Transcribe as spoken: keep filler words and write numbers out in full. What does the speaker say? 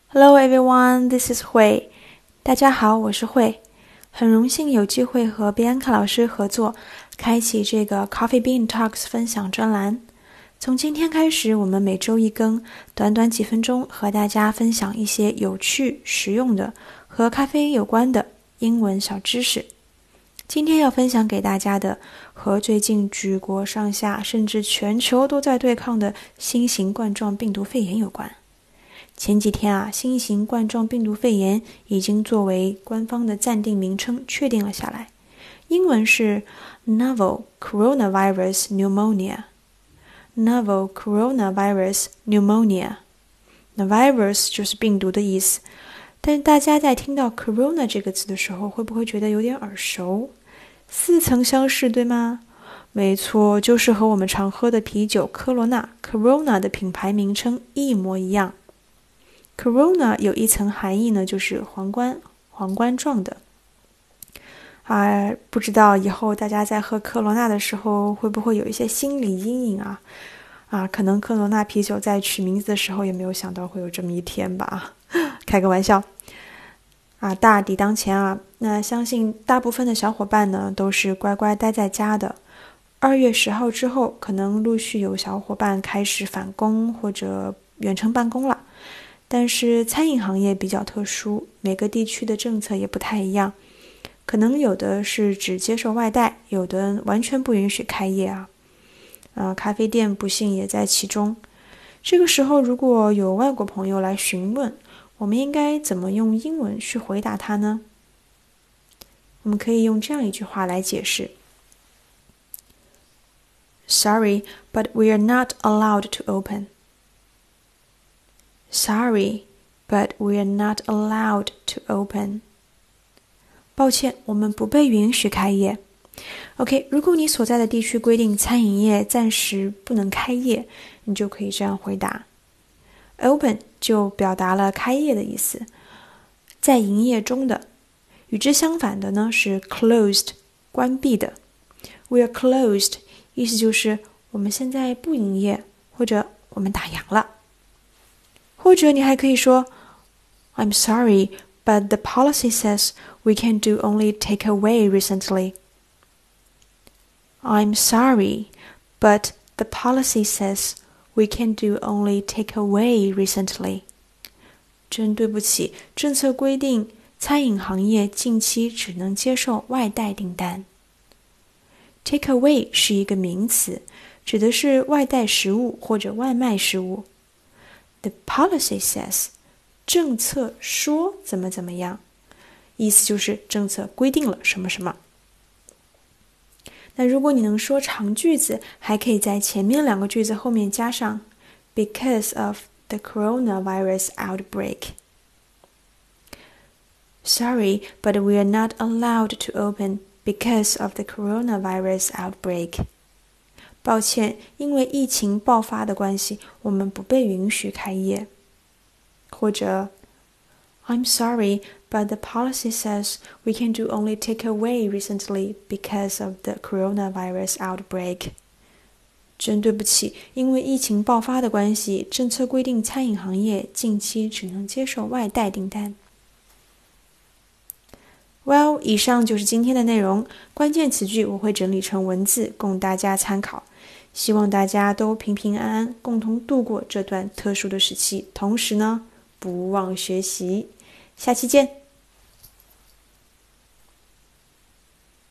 Hello everyone, this is Hui. 大家好，我是慧。很荣幸有机会和 Bianca 老师合作，开启这个 Coffee Bean Talks 分享专栏。从今天开始，我们每周一更，短短几分钟和大家分享一些有趣、实用的和咖啡有关的英文小知识。今天要分享给大家的和最近举国上下甚至全球都在对抗的新型冠状病毒肺炎有关。前几天啊，新型冠状病毒肺炎已经作为官方的暂定名称确定了下来，英文是 Novel Coronavirus Pneumonia。Novel Coronavirus Pneumonia。那 virus 就是病毒的意思，但是大家在听到 corona 这个词的时候，会不会觉得有点耳熟？似曾相识，对吗？没错，就是和我们常喝的啤酒科罗娜 Corona 的品牌名称一模一样。Corona 有一层含义呢，就是皇冠皇冠状的啊，不知道以后大家在喝科罗娜的时候会不会有一些心理阴影啊？啊，可能科罗娜啤酒在取名字的时候也没有想到会有这么一天吧，开个玩笑啊。大敌当前啊，那相信大部分的小伙伴呢都是乖乖待在家的。二月十号之后，可能陆续有小伙伴开始返工或者远程办公了。但是餐饮行业比较特殊，每个地区的政策也不太一样，可能有的是只接受外带，有的完全不允许开业啊。呃，咖啡店不幸也在其中。这个时候如果有外国朋友来询问，我们应该怎么用英文去回答他呢？我们可以用这样一句话来解释 Sorry, but we are not allowed to open.Sorry, but we are not allowed to open. 抱歉，我们不被允许开业。OK， 如果你所在的地区规定餐饮业暂时不能开业，你就可以这样回答。Open 就表达了开业的意思，在营业中的。与之相反的呢是 closed， 关闭的。We are closed， 意思就是我们现在不营业，或者我们打烊了。或者你还可以说 I'm sorry, but the policy says we can do only takeaway recently. I'm sorry, but the policy says we can do only takeaway recently. 真对不起，政策规定餐饮行业近期只能接受外带订单。Takeaway 是一个名词，指的是外带食物或者外卖食物。The policy says， 政策说怎么怎么样，意思就是政策规定了什么什么。那如果你能说长句子，还可以在前面两个句子后面加上 because of the coronavirus outbreak. Sorry, but we are not allowed to open because of the coronavirus outbreak.抱歉，因为疫情爆发的关系，我们不被允许开业。或者 I'm sorry, but the policy says we can do only takeaway recently because of the coronavirus outbreak. 真对不起，因为疫情爆发的关系，政策规定餐饮行业近期只能接受外带订单。Well， 以上就是今天的内容，关键词句我会整理成文字供大家参考。希望大家都平平安安，共同度过这段特殊的时期，同时呢，不忘学习。下期见。